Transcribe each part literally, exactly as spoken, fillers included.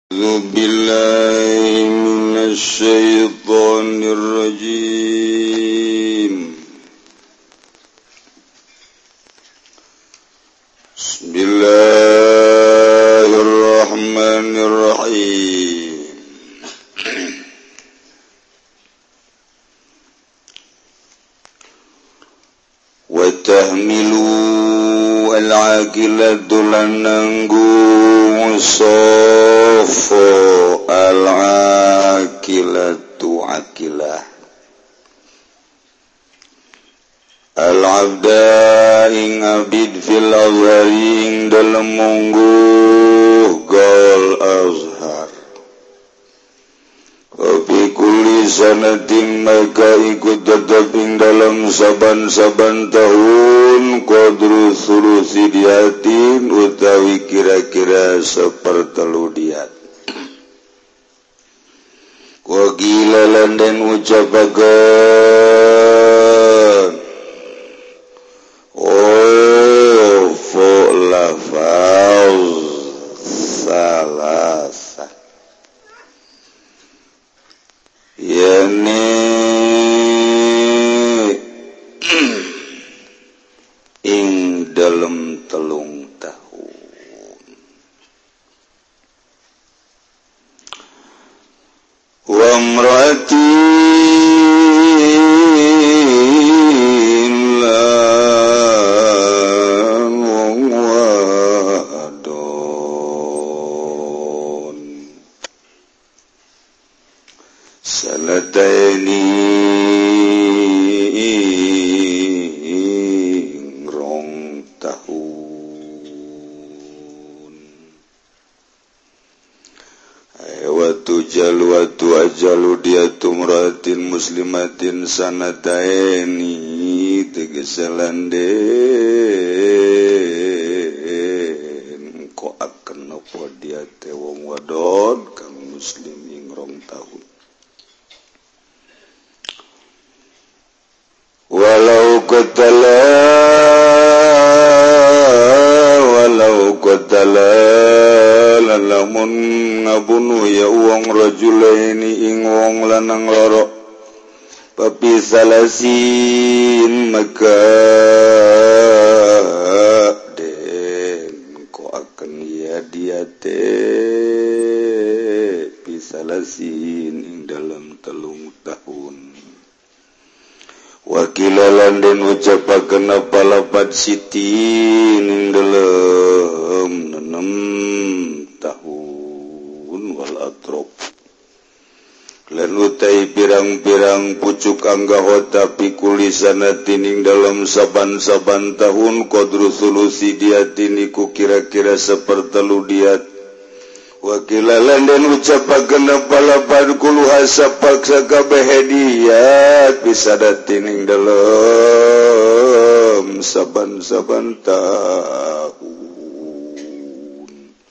Billahi minasyaitonir rajim. Bismillahirrahmanirrahim. Wa tahmilu al-aqilatu lananggung sofo al-aqilatu aqilah al-abda ing abid fil azhari ing dalem mungguh gal azhar wa kulli sanatin maka ikut tetap ing dalam saban-saban tahun qadru sulusi diatin utawi kira-kira sepertelu diat wa gilalan dan ucapakan oh fo lafaz salasa yani ing dalam telung tahun wa mratin lan wadon sanataini rong tahun watu jalu watu ajalu dia tumratin muslimatin sanataini tegeselanden ko akan apa dia te wong wadon kang muslim ing rong tahun walau qatala walau qatala lalamun ngabunuh ya wong rajulaini ing wong lanang loro papi salasin maka den ko akan ya dia te pisalasin ing dalam telung tahun wakilalan dan ucapakan apa lapat sitin ing dalam enam tahun wal atrop lan utai pirang-pirang pucuk anggaho tapi kulisanatin ing dalam saban-saban tahun qadru sulusi diatin iku kira-kira sepertelu diat wakilalan dan ucapakan apa lapan kuluha sapaksa kabeh hadiat bisa datin ing dalam saban-saban tahun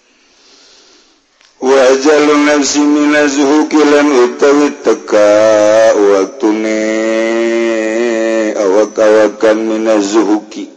wajalun nafsi minazuhuki lan utawi teka waktune awak-awakan minazuhuki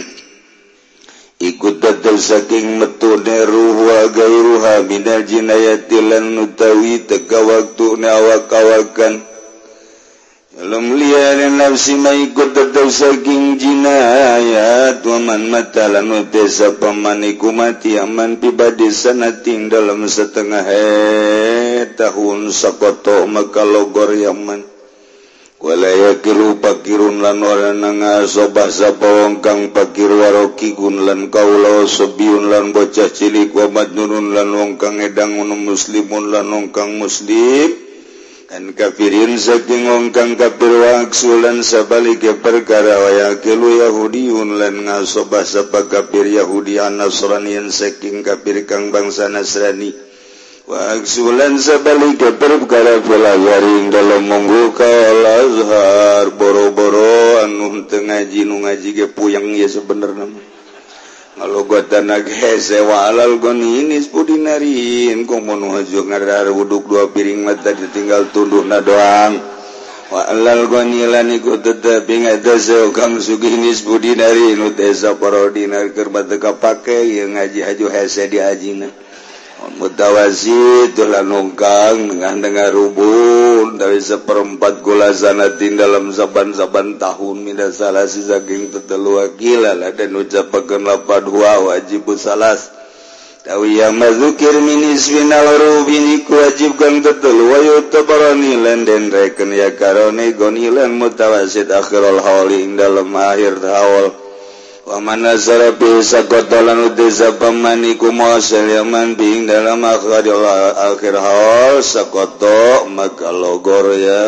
ikut datang saking metune ruh wa gairuha minal jinayati lan utawi teka waktune awak-awakan dalam liyan nafsi ma ikut datang saking jinayat wa man mata lan utesa pamaniku mati aman pibadi sanating dalam setengah he tahun sakoto maka logor yaman walaya kiru pakirun lan orang ngasobah sapa wong kang pakir warokigun lan kaula sebiun lan bocah cilik wa madnunun lan wong kang edang muslimun lan wong kang muslim kan kafirin saking wong kang kafir wa aksulan sabalike perkara wa yakilu yahudiun lan ngasobah sapa kafir yahudi an-nasranian saking kafir kang bangsa nasrani wa aksulan sabalike perkara pelagaring dalam monggo kal azhar boro-boro anu teu ngaji nu ngaji ge puyeng ya sebenarnya ngalogotan ge sewa alal goninis pudinarin komo nu hajo ngadar wuduk dua piring mata ditinggal tunduhna doang wa alal gonilan iku tetep ngada kang suginis pudinarin nu desa parodinar keur bateu kapake ye ngaji hajo hese di ajina mutawasid dolan nongkang dengan rubun dari seperempat gula sanatin dalam saban-saban tahun mina salasi saking tetelu akila dan ucapakeun lapad huwa wajib salas tawi yang mazukir minis final rubini wajib kang tetelu wa yutabarani lan den reken ya karone gonilan mutawasid akhirul hauli ing dalam akhir haul wa manazara bi sakotalan udza pamani kumasal yaman bing dalam akhir akhir haul sakoto maka logor ya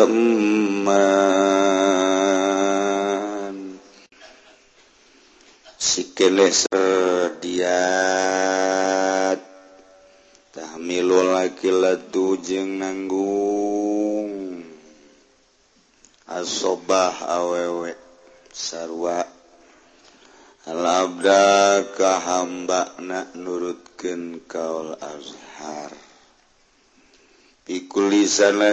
man sikene sediat tahmilul akilatu jeung nanggung asobah awewe sarwa al-abda ka hamba nak nurutkeun kaul azhar pikuli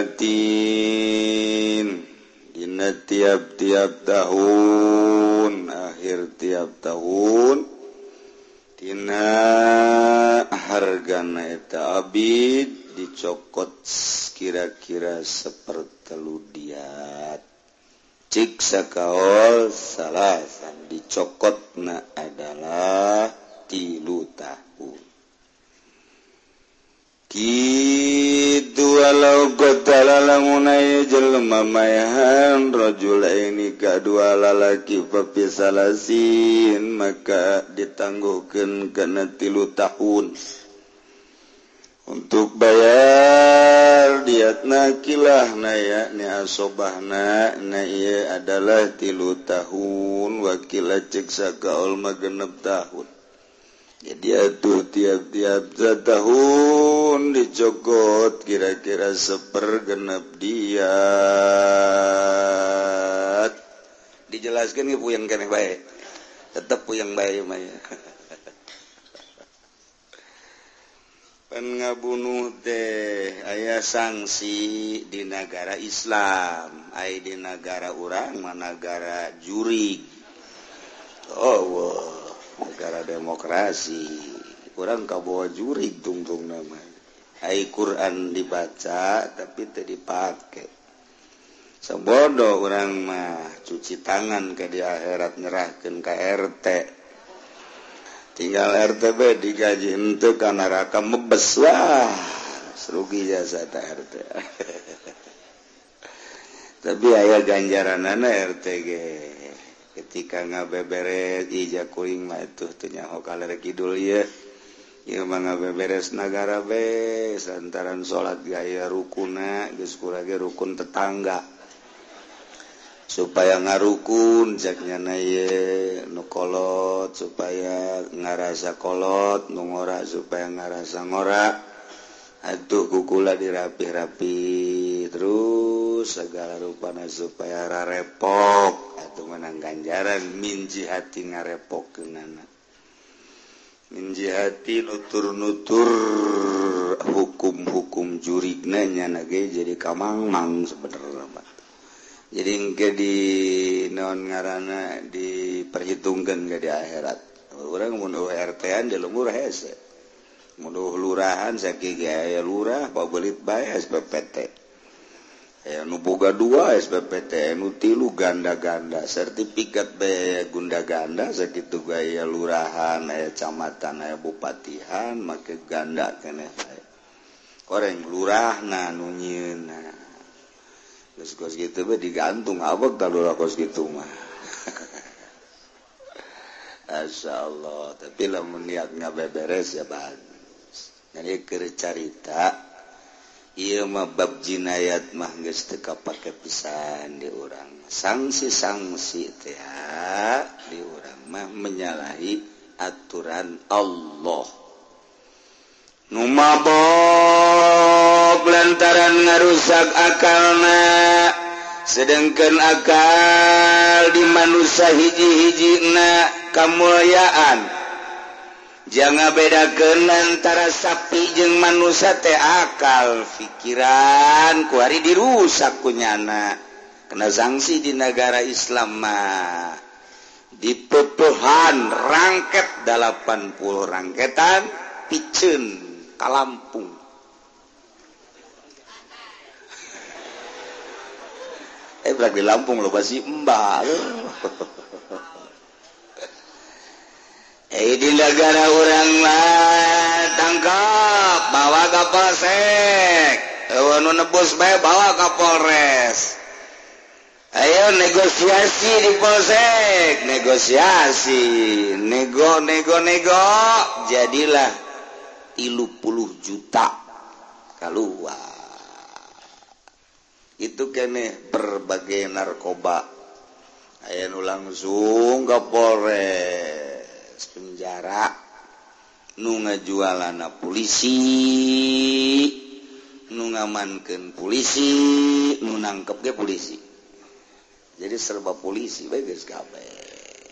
sanatin dina tiap-tiap tahun akhir tiap tahun dina hargana eta abid dicokot kira-kira sepertelu diat cik sakaol salasan dicokotna adalah tilu tahun kitu walau qatala lamunai jelema mayahan rajul ini kadua lalaki papisalasin maka ditangguhkeun kana tilu tahun untuk bayar diatna kilahna ya ni asobahna na ieu adalah tilu tahun wakila cek sakaul magenep tahun jadi atuh tiap-tiap setahun dicokot kira-kira sepergenep diat dijelaskeun ge puyeng keneh bae tetep puyeng bae mah ya ngabunuh teh aya sanksi di negara Islam aya di negara urang mah negara jurig oh wow. Negara demokrasi urang kabawa jurig tungtung nama aya Quran dibaca tapi teu dipake sabodo urang mah cuci tangan ke di akhirat nyerahkeun ka R T tinggal R T B digaji henteu ka neraka mebes wah rugi jasa ta R T tapi aya ganjaranana R T G ketika ngabeberes ija kuring mah atuh teu nyaho kaler kidul ieu ieu mah ngabeberes nagara be santaran salat gaya rukunna geus kurang rukun tetangga supaya ngarukun jaknyana ye nu kolot supaya ngarasa kolot nu ngora supaya ngarasa ngora atuh kukula dirapih-rapih terus segala rupana supaya rarepok atuh menang ganjaran min jihati ngarepokeunana min jihati nutur-nutur hukum-hukum jurigna nyana ge jadi kamangmang sebenarnya jadi engke di naon ngaranna diperhitungkeun ke di akhirat urang mun R T-an di lembur hese mun lurahan sakieu aya lurah pabelit bae S P P T aya nu boga dua S P P T nu tilu ganda-ganda sertifikat bae gunda-ganda sakitu aya lurahan aya camatan aya bupatihan make ganda keneh bae koreng lurahna nu nyieunna kos gitu be digantung abek talula kos gitu mah Asyaallah tapi lamun niat ngabeberes ya bagus jadi keur carita ieu mah bab jinayat mah geus teu kapake pisan di urang sanksi-sanksi teh di urang mah menyalahi aturan Allah nu mabok lantaran ngarusak akalna sedangkan akal di manusia hiji-hijina kamuliaan jangan bedakeun antara sapi jeung manusia teh akal pikiran ku ari dirusak ku nyana kena sanksi di negara Islam mah diputuhan rangket delapan puluh rangketan piceun ka Lampung. Eh berak di Lampung lo pasti mbak. Eh di negara orang mah tangkap bawa ke polsek. Anu nebus bae bawa ke Polres. Ayo negosiasi di polsek, negosiasi, nego nego nego, jadilah tilu puluh juta keluar. Itu kene berbagai narkoba. Ayo nu langsung ke Polres penjara, nu ngajualana polisi, nu ngamankeun polisi, nu nangkep ge polisi. Jadi serba polisi bae geus kabeh.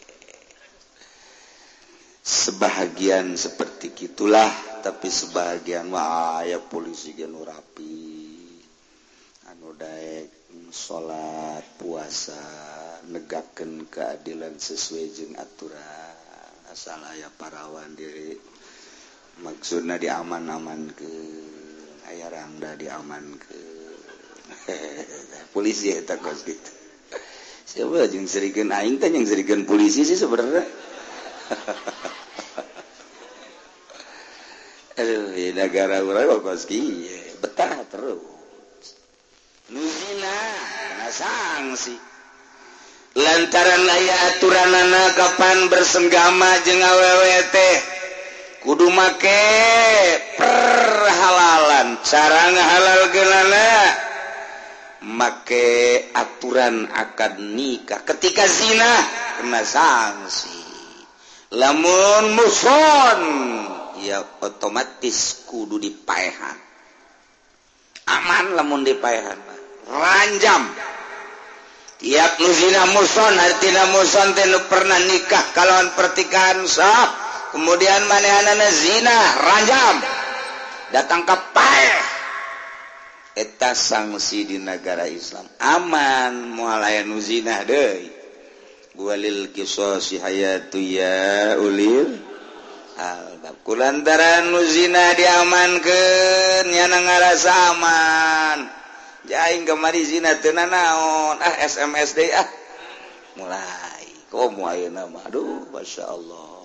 Sebahagian seperti gitulah, tapi sebahagian mah aya polisi ge nu rapi. Anu daek salat, puasa, negakeun keadilan sesuai jeung aturan. Asal aya parawan diri maksudna diaman-amankeun, aya rangda diamankeun. Polisi eta kos gitu. Siapa yang serikan aing kan yang serikan polisi sih sebenarnya. Aduh, ya negara urang kok kieu, betah terus. Nuzina kena sanksi. Lantaran aya aturanana kapan bersenggama jeung awewe teh kudu make perhalalan, cara ngahalalkeunana make aturan akad nikah. Ketika zina kena sanksi. Lamun muson ya otomatis kudu dipaehan. Aman lamun dipaehan ranjam. Tiap nu zina muson artina muson teh nu pernah nikah kalawan pertikahan sah kemudian manehanana zina ranjam datang ka paeh. Eta sanksi di negara Islam aman moal aya nu zina deui. Walil qisasi hayatu ya ulil albab. Kulantaran nu zina diamankeun nyana ngarasa aman. Jaing kamari zina teu nanaon, ah S M S deui ah. Mulai komo ayeuna mah aduh masyaallah.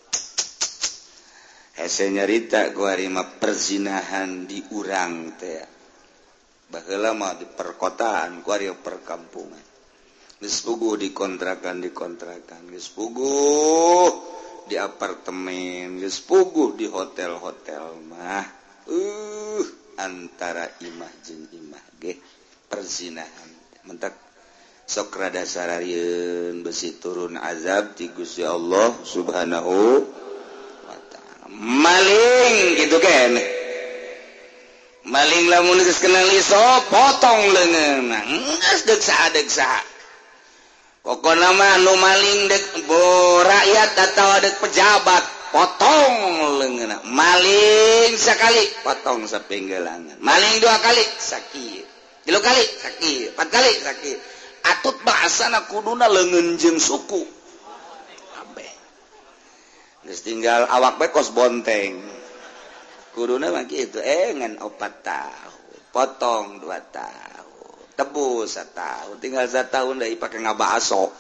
Hese nyarita ku ari mah perzinahan di urang teh. Baheula mah di perkotaan, ku ari perkampungan. Geus puguh di kontrakan di kontrakan, geus puguh di apartemen, geus puguh di hotel-hotel mah. Uh, antara imah jeung imah ge perzinahan. Mentak sok rada sararieun besi turun azab ti Gusti Allah Subhanahu wa taala. Maling gitu kan. Maling lamun geus kenal iso potong leungeunna. Geus deuk saha-deuk saha. Pokona mah nu maling dek bo rakyat atau dek pejabat potong leungeunna. Maling sakali potong sapenggelangan. Maling dua kali sakit. Tilu kali sakit, empat kali sakit. Atut bahasana kuduna leungeun jeung suku. Kabeh. Geus tinggal awak bae kos bonteng. Kuduna mah kitu, eh ngan opat tahun, potong dua tahun. Tebus setahun, tinggal setahun dari pakai ngabaso.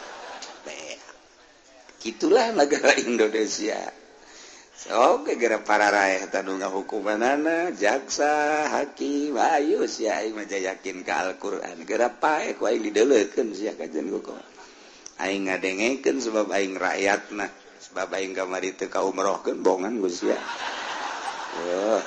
Gitulah negara Indonesia. So, gara para rakyat tanu ngahukumanana, jaksa, hakim, ayo sia aing mah yakin ka Al-Qur'an. Gara pae ku aing dideuleukeun sia kajen hukum. Aing ngadengekeun sebab aing rakyatna, sebab aing kamari teu ka umrohkeun bongan ku sia. Wah.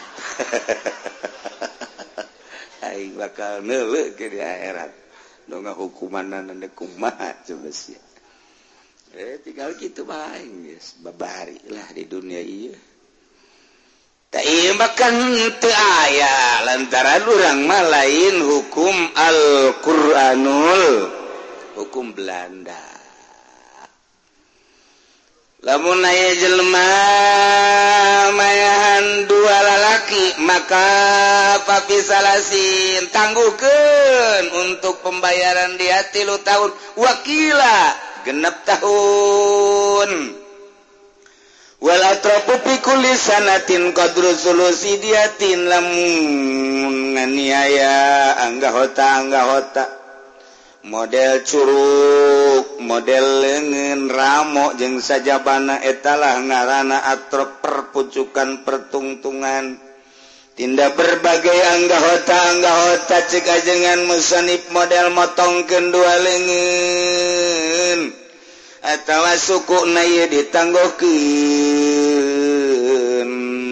Aing bakal neuleuh ke di akhirat. Nu ngahukumanana teh kumaha coba sia. Eh tinggal gitu bae geus babari lah di dunia ieu. Ta ieu makan teu aya lantaran urang mah lain hukum Al-Qur'anul hukum Belanda. Lamun aya jelema mayahan dua lalaki maka papisalasin tangguhkeun untuk pembayaran dia tilu tahun wakila genep tahun wala tropupi kulisanatin qadru sulusi diatin lamun nganiaya angga hota angga hota model curug model leungeun ramo jeung sajabana etalah ngaranna atrop perpucukan pertungtungan tindak berbagai angga hota angga hota cek ajengan musanif model motongkeun dua leungeun atawa sukuna ieu ditanggokeun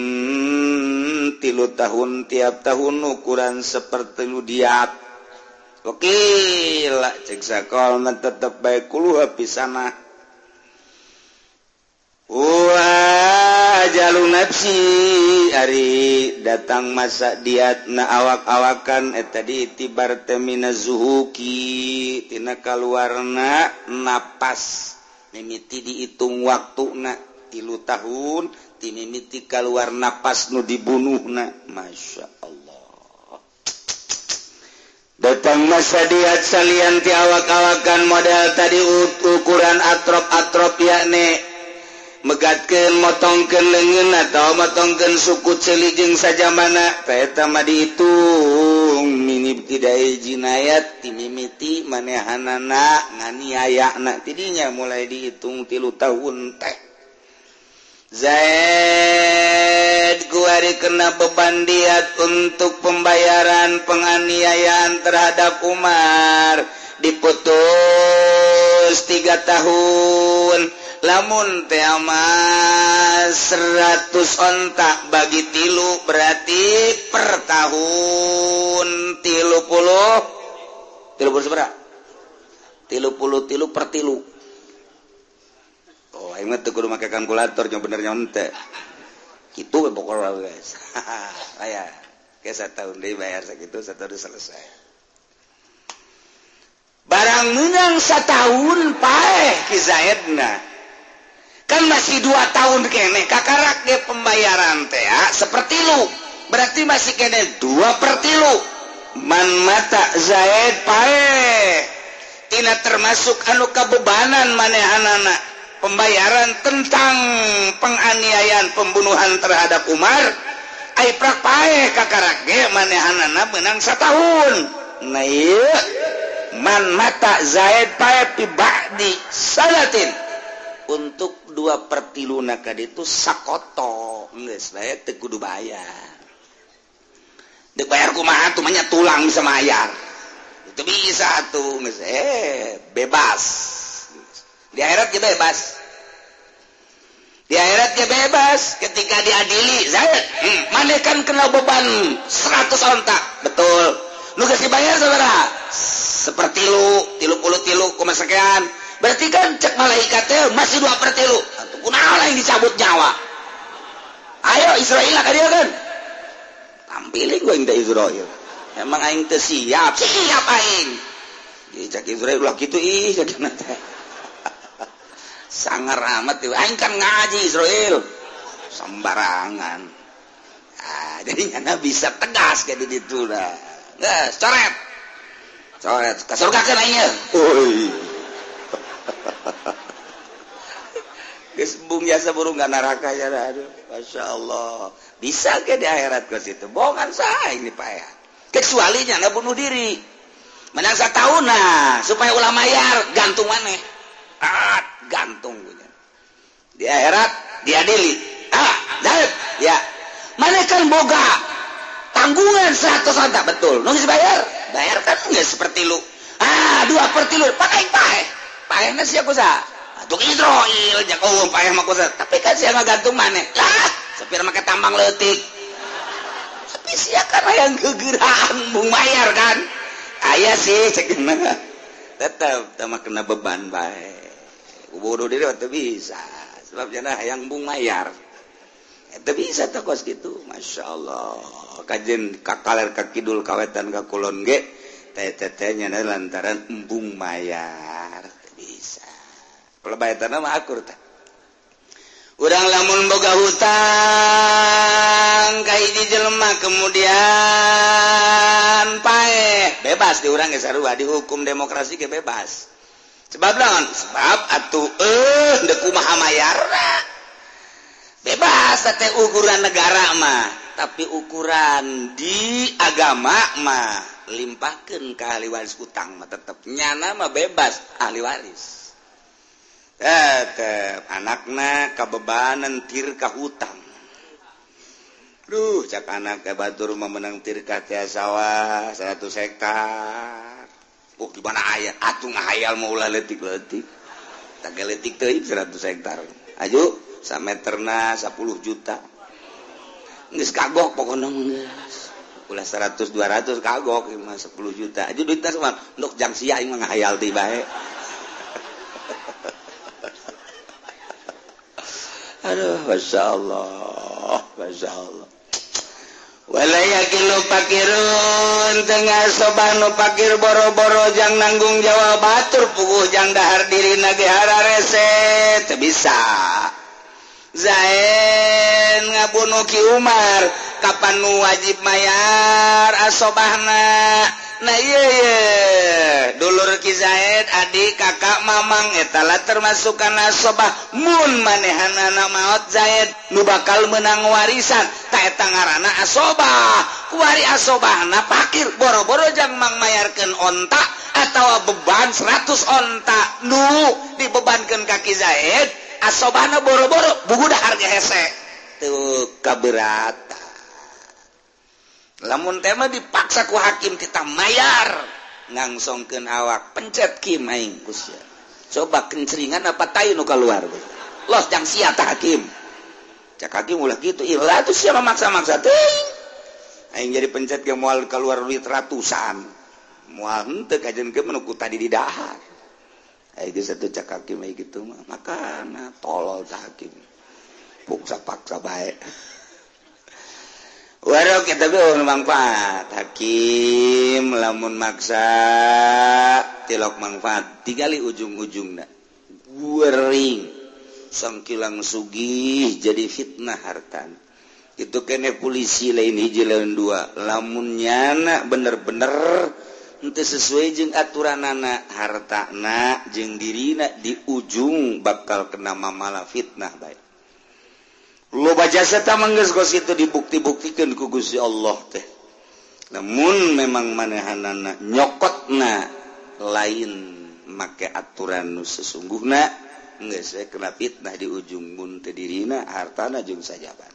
tilu tahun tiap tahun ukuran sepertilu diat oke lah cek sakol mah tetep bae kuluha pisanna wa jalun nafsi ari datang masa diatna awak-awakan eta diitibar temina zuhuki tina kaluarna napas mimiti dihitung waktuna tilu tahun ti mimiti kaluar napas nu dibunuhna masya Allah datang masa diat salian ti awak-awakan model tadi ukuran atrop-atrop yakni megatkeun motongkeun leungeun atau motongkeun suku ceuli jeung sajamana eta mah dihitung minib tidai jinayat ti mimiti manehanana nganiayana tidinya mulai dihitung tilu tahun teh Zaid kuari kena beban diat untuk pembayaran penganiayaan terhadap Umar diputus tiga tahun lamun teh amas seratus ontak bagi tilu berarti per tahun tilu puluh tilu puluh seberapa tilu puluh tilu per tilu oh ingat tuh kudu make kalkulator yang bener nyontek gitu pokoknya guys ayah kayak satu tahun deh bayar segitu satu tahun selesai barang menang setahun paeh kisaedna kan masih dua tahun kene kakarak ge pembayaran teh ya seperti lu berarti masih kene dua per tilu man mata Zaid pae tina termasuk anu kabebanan manehanana pembayaran tentang penganiayaan pembunuhan terhadap Umar ai prak pae kakarak ge manehanana menang satahun nah ieu man mata Zaid pae pi ba'di salatin untuk dua per tilu nakad itu sakoto geus bae teu kudu bayar dek bayar kumaha tuh manya tulang bisa mayar itu bisa tuh geus eh bebas di akhirat ge bebas di akhirat ge bebas ketika diadili Zaid hmm, maneh kan kena beban seratus ontak betul nu geus dibayar saudara seperti lu tilu puluh tilu koma sekian berarti kan cek malaikatnya masih dua per tilu atau kunaon yang dicabut nyawa ayo Israel ka dia kan tampilin gue yang Israel emang aing teu siap siap aing dicak Israel ulah kitu ih jadinya teh sangar amat tuh aing kan ngaji Israel sembarangan ah jadinya bisa tegas kayak di ditu lah geus coret coret ka surga kan aing oi geus bung jasa burung gak neraka ya aduh masya Allah bisa ke di akhirat ke situ bohongan sah ini pak ya kecuali nya bunuh diri menang satahun nah supaya ulah mayar gantung maneh ah gantung di akhirat diadili ah Zaid ya maneh kan boga tanggungan seratus ontak betul nu geus bayar bayar kan geus seperti lu ah dua per tilu pakai pae paehna sia kusaha atuh Israel jak oh paeh mah kusaha tapi kan sia ngagantung maneh lah sepir make tambang leutik tapi sia kan hayang gegeuraan bung mayar kan aya sih cekeuna tetep teh mah kena beban bae bodoh diri teh bisa sebab cenah hayang bung mayar eta bisa teh kos kitu masyaallah kajen kakaler ka kidul kawetan ka kulon ge teh-tehnya lantaran embung mayar bisa pelebayatana mah akur teh urang lamun boga hutang ka hiji jelema kemudian paeh bebas di urang ge sarua di hukum demokrasi ge bebas sebab naon sebab atuh eh deuk kumaha mayarna bebas teh ukuran negara mah tapi ukuran di agama mah limpahkeun ka ahli waris utang mah tetep nyana mah bebas ahli waris tetep anakna kabebanan tir ka hutang duh cak anak ke batur mah menang tir ka teh sawah seratus hektar oh di mana aya atuh ngahayal mah ulah leutik-leutik tak leutik teuing seratus hektar aju sameterna sepuluh juta geus kagok pokona geus ulah seratus dua ratus kagok mah sepuluh juta aju duitna mah ndok jang sia aing mah ngahayal teh bae aduh masyaallah masyaallah wala yakilu pakirun tengah sobanu pakir boro-boro jang nanggung jawab batur puguh jang dahar dirina ge hararese teu bisa Zain ngabunuh Ki Umar kapan nu wajib mayar asobahna nah iya iya dulur Ki Zaid adik kakak mamang etala termasuk kana asobah mun manehanana maot Zaid nu bakal menang warisan ta eta ngaranna asobah kuari asobahna pakir boro-boro jang mang mayarkeun onta atawa beban seratus onta nu dibebankeun ka Ki Zaid asobahna boro-boro bugu dahar ge hese teu kaberatan lamun teh mah dipaksa ku hakim kita mayar ngangsongkeun awak pencet kim aing kusya coba kencringan apa tai nu kaluar los jang sia tah hakim cak hakim ulah kitu ilah atuh sia maksa-maksa teuing aing jadi pencet ge moal kaluar duit ratusan moal henteu kajenkeun menuku tadi di dahar ai geus atuh cak hakim ai kitu mah makana tolol tah hakim paksa-paksa bae warok kita be manfaat hakim lamun maksa tilok manfaat tigali ujung-ujungna guering sangkilang sugih jadi fitnah hartan itu kene polisi lain hiji lain dua lamun nyana bener-bener henteu sesuai jeung aturanana hartana jeung dirina di ujung bakal kena mamalah fitnah bae loba jasa ta manggeus gos itu dibukti-buktikeun ku Gusti Allah teh namun memang manehanana nyokotna lain make aturan nu sesungguhna geus kena fitnah di ujung mun teu dirina hartana jeung sajaban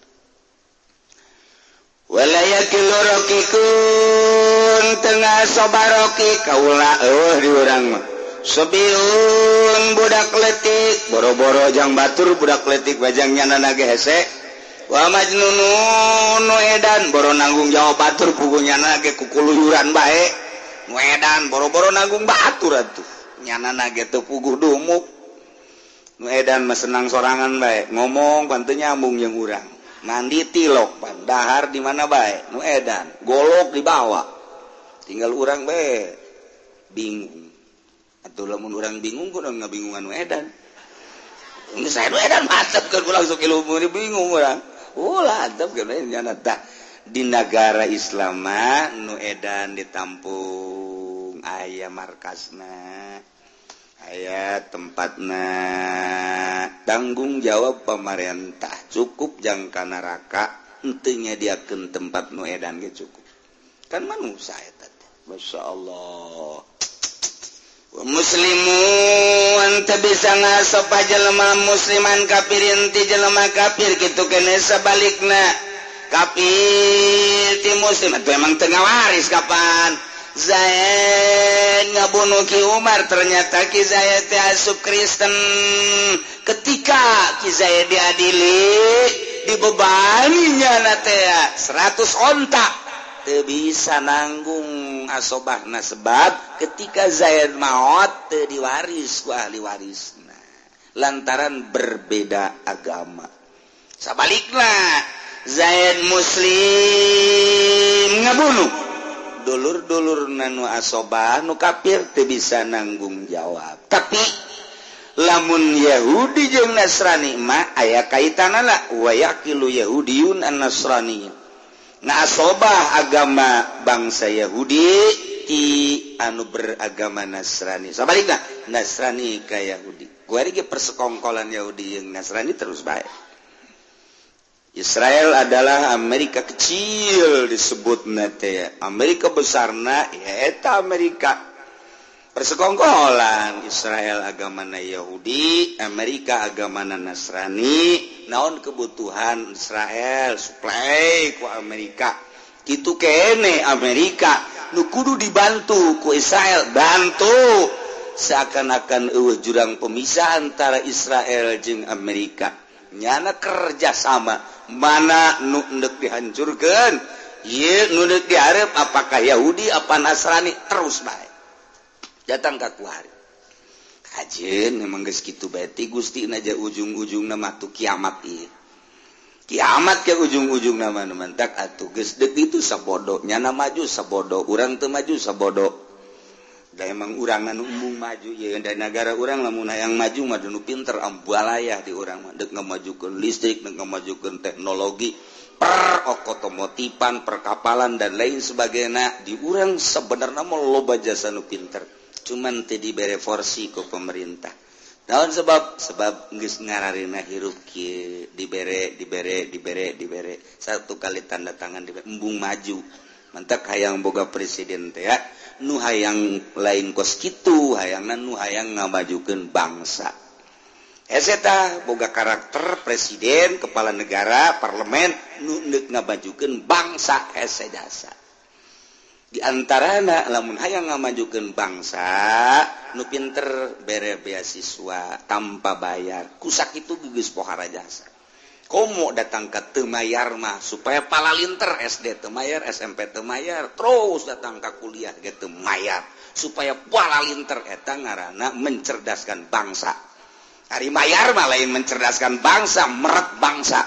wala yakilu rokikun tengah sobaroki kaula eueuh di urang mah Sebiun budak letik boro-boro jang batur budak letik bajang nyanana ge hese wa majnunun nu edan boro nanggung jawab batur pugunya ge kukuluyuran bae nu edan boro-boro nanggung batur atuh nyanana ge teu puguh dumuk nu edan mah senang sorangan bae ngomong panteu nyambung jeung urang mandi tilok pan dahar di mana bae nu edan golok dibawa tinggal urang bae bingung atau lamun orang bingung kudu ngabingungan nu edan. Geus saya nu edan mantep keur langsung ilmu bingung urang. Ulah antep keur nyana tah di negara Islam nu edan ditampung aya markasna. Aya tempatna tanggung jawab pemerintah cukup jang ka neraka henteu nyadiakeun tempat nu edan ge cukup. Kan manusia eta teh. Masyaallah. Muslimun teu bisa ngasopa jelema musliman kafirin ti jelema kafir kitu kene sabalikna kafir ti muslim atuh emang teu ngawaris kapan Zaid ngabunuh Ki Umar ternyata Ki Zaid teh asup Kristen ketika Ki Zaid diadili dibebani nyana teh seratus onta teu bisa nanggung asobahna sebab ketika Zaid maot teu diwaris ku ahli warisna lantaran berbeda agama sabalikna Zaid muslim ngabunuh dulur-dulurna nu asobah nu kafir teu bisa nanggung jawab tapi lamun Yahudi jeung Nasrani mah aya kaitanana wa yaqilu yahudiyun an nasrani ngasobah agama bangsa Yahudi ti anu beragama Nasrani sabalikna Nasrani ka Yahudi kuari ge persekongkolan Yahudi jeung Nasrani terus bae Israel adalah Amerika kecil disebut nate Amerika besarna ya eta Amerika persekongkolan Israel agamana Yahudi Amerika agamana Nasrani naon kebutuhan Israel supply ku Amerika kitu kene Amerika nu kudu dibantu ku Israel bantu seakan-akan eueuh jurang pemisah antara Israel jeung Amerika nyana kerja sama mana nu endek dihancurkeun ieu nu endek diarep apakah Yahudi apa Nasrani terus bae datang ka kuari kajeun memang geus kitu bae ti Gusti aja ujung-ujungna mah tu kiamat ieu kiamat ke ujung-ujungna mah mentak atuh geus deuk itu sabodo nyana maju sabodo urang teu maju sabodo da emang urang anu embung maju ya da negara urang lamun hayang maju mah nu pinter ambualayah di urang mah deuk ngamajukeun listrik deuk ngamajukeun teknologi per otomotifan perkapalan dan lain sebagainya di urang sebenarnya mau loba jasa nu pinter cuman teu dibere porsi ku pemerintah naon sebab sebab geus ngararina hirup kieu dibere dibere dibere dibere satu kali tanda tangan dibere embung maju mentak hayang boga presiden teh ya nu hayang lain kos kitu hayangna nu hayang ngamajukeun bangsa eta boga karakter presiden kepala negara parlemen nu neuk ngamajukeun bangsa hese jasa di antarana lamun hayang ngamajukeun bangsa nu pinter bere beasiswa tanpa bayar kusakitu geus pohara jasa komo datang ke teu mayar mah supaya palalinter S D teu mayar S M P teu mayar terus datang ke kuliah ge teu mayar supaya palalinter eta ngaranna mencerdaskan bangsa ari mayar mah lain mencerdaskan bangsa meret bangsa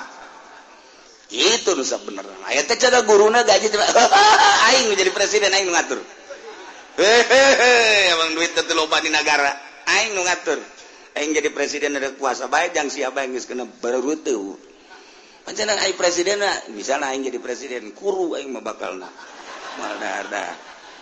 itu nu sabenerna aya teh cara guruna gaji teh aing jadi presiden aing nu ngatur hehehe emang duit teh loba di negara aing nu ngatur aing jadi presiden ada kuasa bae jang siapa yang geus kena bareuteuh pancen aing presiden misalna aing jadi presiden kuru aing mah bakalna moal dahar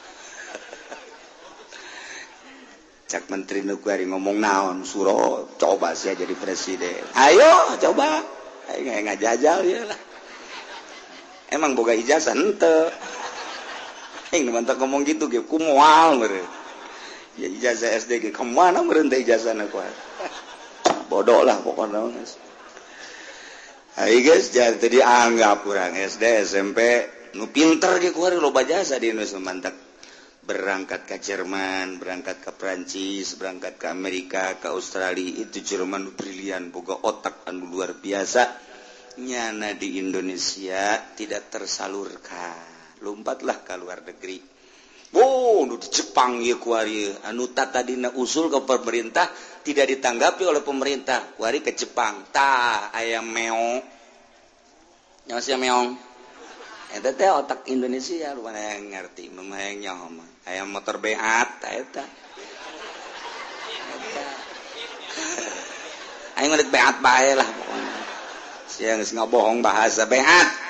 cak menteri nu kuari ngomong naon suro coba sia jadi presiden ayo coba aing ngajajal ieu lah emang boga ijazah henteu aing mantap ngomong gitu ge kumoal meureun ya ijazah S D ge kemana meureun teh ijazahna kuat bodoh lah pokoknya ayo guys jangan tadi anggap kurang S D S M P nu pinter ge kuari loba jasa di Indonesia mantap berangkat ke Jerman berangkat ke Prancis berangkat ke Amerika ke Australia itu Jerman nu brilian boga otak anu luar biasa nyana di Indonesia tidak tersalurkan lompatlah ke luar negeri oh nu di Jepang ieu kuari anu tadina usul ke pemerintah tidak ditanggapi oleh pemerintah kuari ke Jepang tah aya meong nya sia meong eta teh otak Indonesia lu mana yang ngerti nu hayang nyaho mah aya motor beat ta eta aing ngeureut beat bae lah pokona sia geus ngabohong bahasa beat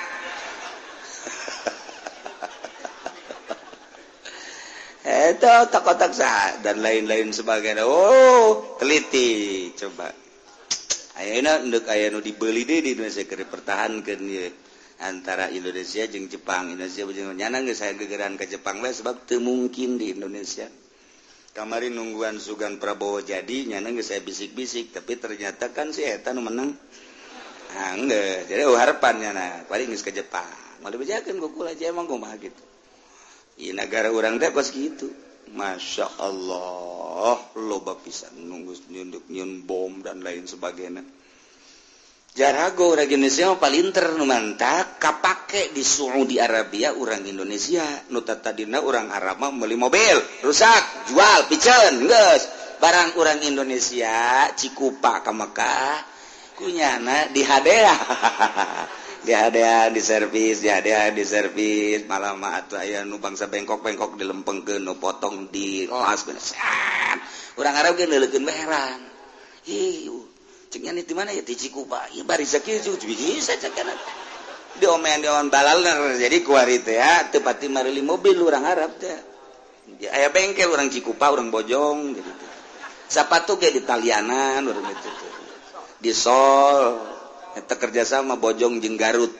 eta otak-otak sah dan lain-lain sebagainya oh teliti coba ayeuna endek aya nu dibeuli deui di Indonesia keur dipertahankeun ieu antara Indonesia jeung Jepang Indonesia jeung nyana geus aya gegeran ka Jepang we sebab teu mungkin di Indonesia kamari nungguan Sugan Prabowo jadi nyana geus aya bisik-bisik tapi ternyata kan si eta nu menang ah enggeus jadi oh harapan nyana paling geus ka Jepang moal dibejakeun ku kula aja emang kumaha gitu ieu negara urang teh kos kitu Masya Allah loba pisan nunggu nyunduk nyun bom dan lain sebagainya jarago urang Indonesia palinter nu mantap kapake di Saudi Arabia urang Indonesia nu tadina urang Arab mah meuli mobil rusak jual piceun geus barang urang Indonesia Cikupa ka Mekah kunyana dihadeah dihadeah di servis dihadeah di servis malah mah atuh aya nu bangsa bengkok-bengkok dilempengkeun nu potong di las benesan urang Arab ge neuleukeun heran ih ceknya nih di mana ya di Cikupa ieu bari sakieu bisa cekana diomean-diomean balalna jadi kuari teh ya teu pati marili mobil urang Arab teh aya bengkel urang Cikupa urang Bojong jadi sapatu ge di talianan urang itu di sol eta kerjasama Bojong jeung Garut.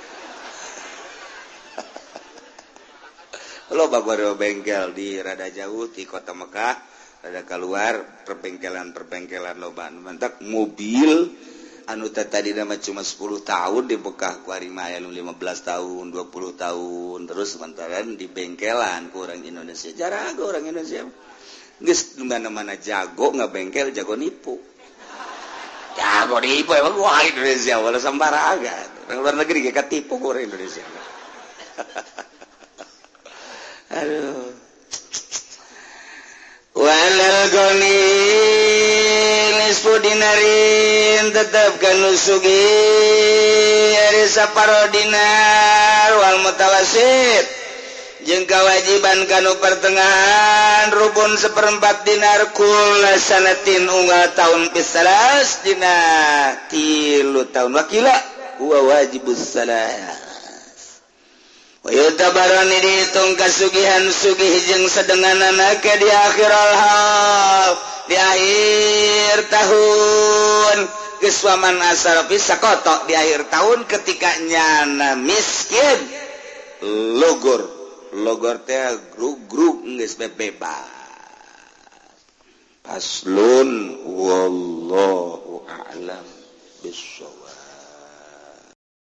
Loba bengkel di rada jauh di kota Mekah, rada keluar perbengkelan-perbengkelan loba mantak mobil anu tadi nama cuma sepuluh tahun di Mekah ku ari mah aya lima belas tahun, dua puluh tahun terus sementara di bengkelan ku orang Indonesia. Jarago orang Indonesia. Geus mana-mana jago ngabengkel, jago nipu. Jago nipu emang wah Indonesia wala sambaraga. Orang luar negeri ge katipu ku orang Indonesia. Aduh. Walal goni nisfu dinarin tetap kanu sugi ari saparo dinar wal mutawasit jeung kewajiban kanu pertengahan rubun seperempat dinar kula sanatin unggal taun pisalas dina tilu taun wakila huwa wajibus salat. Wayutabarani dihitung kasugihan sugih jeung sedenganana ke di akhirul hal di akhir tahun geus waman asal pisakoto di akhir tahun ketika nyana miskin logor logor teh grug-grug geus bebas. Paslun wallahu a'lam bissawab.